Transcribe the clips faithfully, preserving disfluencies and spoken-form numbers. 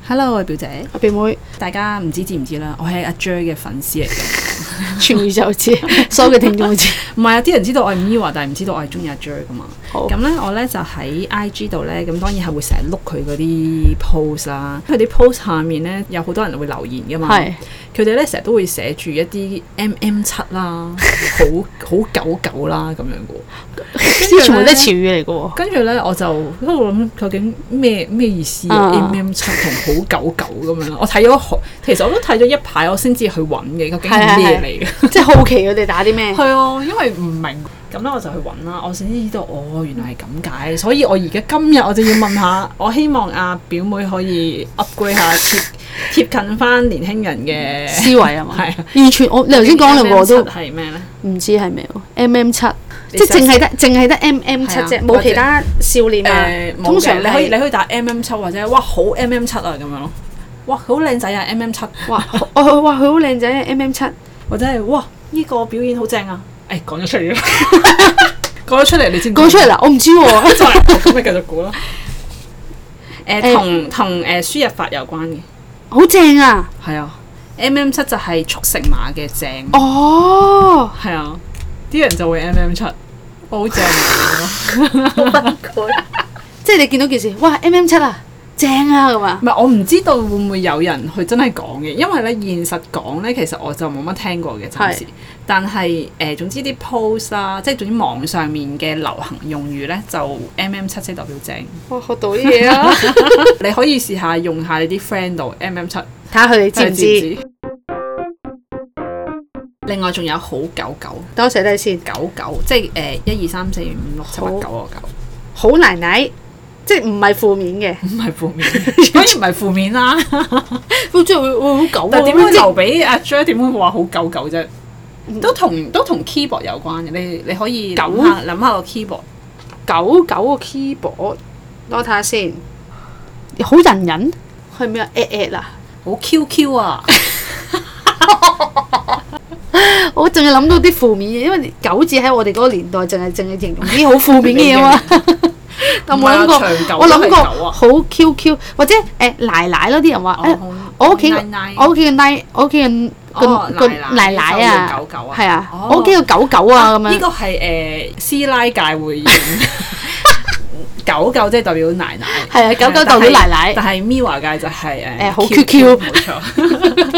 Hello， 我係表姐， 我表妹， 大家唔知知唔知啦？我係阿 J 嘅粉絲嚟嘅， 全宇宙知，所有嘅聽眾都知。 唔係啊，啲人知道我係 Miwa，但係唔知道我係中意阿 J 噶嘛。 好， 咁咧，我咧就喺 I G 度咧，咁當然係會成日碌佢嗰啲 post 啦。佢啲 post 下面咧有好多人會留言噶嘛。係。佢哋咧成日都會寫住一啲 M M 七啦，好好狗狗啦咁樣嘅。 啲全部都係潮語嚟嘅喎。跟住咧，我就喺度諗究竟咩咩意思啊 ？M M 七同好狗狗咁樣。我睇咗，其實我都睇咗一排，我先至去揾嘅，究竟係咩嚟嘅？ 即係好奇佢哋打啲咩？ 係啊，因為唔明。咁咧我就去揾啦，我先知道哦，原來係咁解，所以我而家今日我就要問下，我希望阿表妹可以 upgrade 下貼貼近翻年輕人嘅思維啊嘛，係啊， 完全我你頭先講兩個都係咩咧？ 唔知係咩喎 ？M M 七，即係淨係得淨係得 M M 七啫，冇其他少年啊。通常你可以你可以打 M M 七或者哇好 M M 七啊咁樣咯，哇好靚仔啊 M M 七，哇我哇佢好靚仔啊 M M 七， 或者係哇呢個表演好正啊！誒講咗出嚟啦，講咗出嚟你先講出嚟啦，我唔知喎， 咁咪繼續估啦。誒同同誒輸入法有關嘅， 好正啊！ 係啊 ，M M 七就係速成碼嘅正。 哦， 係啊，啲人就會 M M 七，好正啊！ 好崩潰，即係你見到件事，哇 M M 七啊！正啊咁啊！ 唔係我唔知道會唔會有人去真係講嘅，因為咧現實講咧，其實我就冇乜聽過嘅暫時。但係誒、呃，總之啲 post 啦，即係總之網上面嘅流行用語咧，就 M M 七即係代表正。 哇！學到啲嘢啊！ 你可以試下用下你啲 friend 度 M M 七，睇下佢哋知唔知？ 另外仲有好狗狗， 等我寫低先。 狗狗即係誒一二三四五六七八九個狗。 好奶奶。即係唔係負面嘅， 唔係負面，當然唔係負面啦。 即係會會好狗， 但係點會留俾阿 J？點會話好狗狗啫？都同都同 keyboard 有關嘅。你你可以諗下諗下個 keyboard， 狗狗個 keyboard，我睇下先。好人人係咩啊 ？at at 啊， 好 Q Q 啊！ 我淨係諗到啲負面嘅，因為狗字喺我哋嗰個年代，淨係淨係形容啲好負面嘅嘢嘛。我冇諗過，我諗過好 Q Q 或者誒奶奶咯，啲人話誒我屋企我屋企嘅奶我屋企嘅個個奶奶啊，係啊，我屋企個狗狗啊咁樣。 呢個係誒師奶界會用狗狗，即係代表奶奶。 係啊，狗狗代表奶奶。 但係 Miwa 界就係誒誒好 Q Q， 冇錯。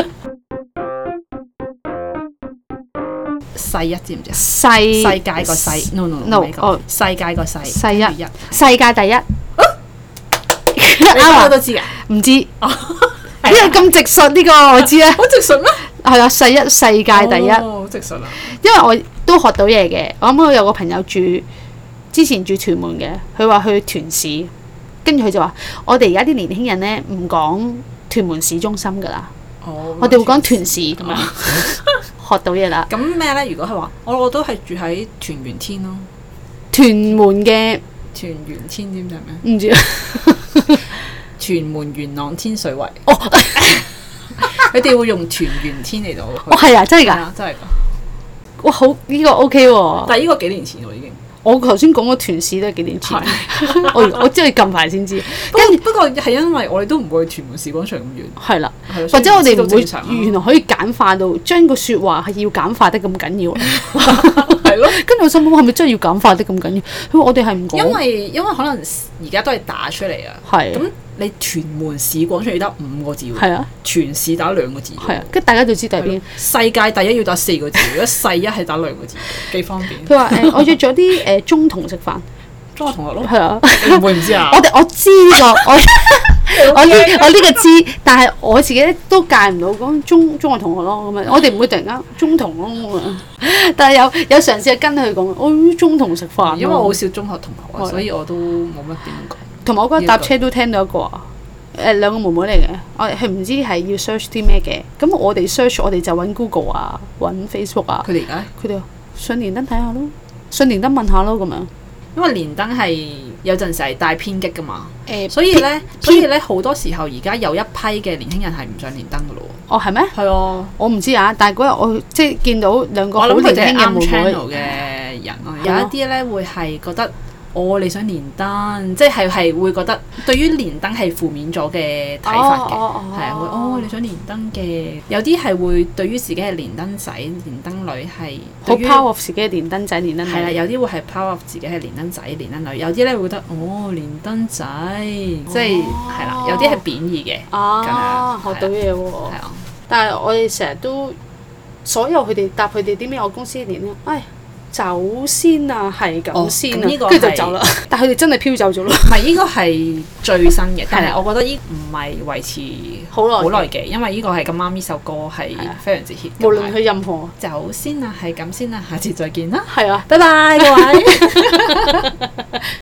細一知唔知啊？ 世世界個世 no no no 哦，世界個世世一世界第一， 你我都知噶， 唔知呢個咁直述呢個我知啊， 好直述咩？ 係啊，世一世界第一， 好直述啊！ 因為我都學到嘢嘅，我啱啱有個朋友住之前住屯門嘅，佢話去屯市，跟住佢就話我哋而家啲年輕人咧唔講屯門市中心噶啦，我哋會講屯市咁樣。學到嘢啦！ 咁咩咧？如果係話，我我都係住喺屯元天咯。 屯門嘅屯元天知唔知係咩？唔知啊。 屯門元朗天水圍。哦，佢哋會用屯元天嚟到。 哦，係啊，真係㗎， 真係㗎。 哇，好呢個 OK 喎。 但係呢個幾年前喎已經。 我頭先講個屯市都係幾年前。我我真係近排先知。 跟住不過係因為我哋都唔會去屯門市廣場咁遠。係啦。或者我哋唔會原來可以簡化到將個説話係要簡化得咁緊要。 係咯。跟住我心諗係咪真係要簡化得咁緊要？佢話我哋係唔講。 因為因為可能而家都係打出嚟啊。係。咁你屯門市廣場要打五個字喎。係啊。全市打兩個字。係啊。跟住大家就知喺邊。世界第一要打四個字，如果世一係打兩個字，幾方便。佢話誒，我約咗啲誒中同食飯。 中學同學咯。 係啊。 你唔會唔知啊？ 我哋我知呢個我。我呢我呢個知，但係我自己都戒唔到講中中學同學咯咁樣，我哋唔會突然間中同咯咁樣，但係有有嘗試跟佢講，我、哦、中同食飯。 因為我好少中學同學啊，的所以我都冇乜點講。 同埋我嗰日搭車都聽到一個啊，誒、呃、兩個妹妹嚟嘅，我係唔知係要 search 啲咩嘅，咁我哋 search 我哋就揾 Google 啊，揾 Facebook 啊。 佢哋而家佢哋上連登睇下咯，上連登問下咯咁樣。 因為連登係有陣時係帶偏激噶嘛，誒、欸，所以咧，偏所以咧好多時候而家有一批嘅年輕人係唔上連登噶咯喎。 哦，係咩？係啊，我唔知啊，但係嗰日我即係見到兩個好年輕嘅妹妹嘅人咯， 有一啲咧會係覺得哦你想連登，即係係會覺得對於連登係負面咗嘅睇法嘅，係啊會哦你想連登嘅，有啲係會對於自己係連登仔、連登女係好 power of 自己係連登仔、連登女。 係啦，有啲會係 power of 自己係連登仔、連登女，有啲咧會覺得哦連登仔，即係係啦，有啲係貶義嘅。 啊，學到嘢喎！ 係啊， 但係我哋成日都所有佢哋答佢哋啲咩我公司連咧，唉。走先啊，係咁先啊，跟住、哦、就走啦。但係佢哋真係飄走咗咯。 唔係呢個係最新嘅，但係我覺得呢唔係維持好耐好耐嘅，因為呢個係咁啱呢首歌係非常之 hit。 無論佢任何走先啊，係咁先啊，下次再見啦。 係啊， 拜拜各位。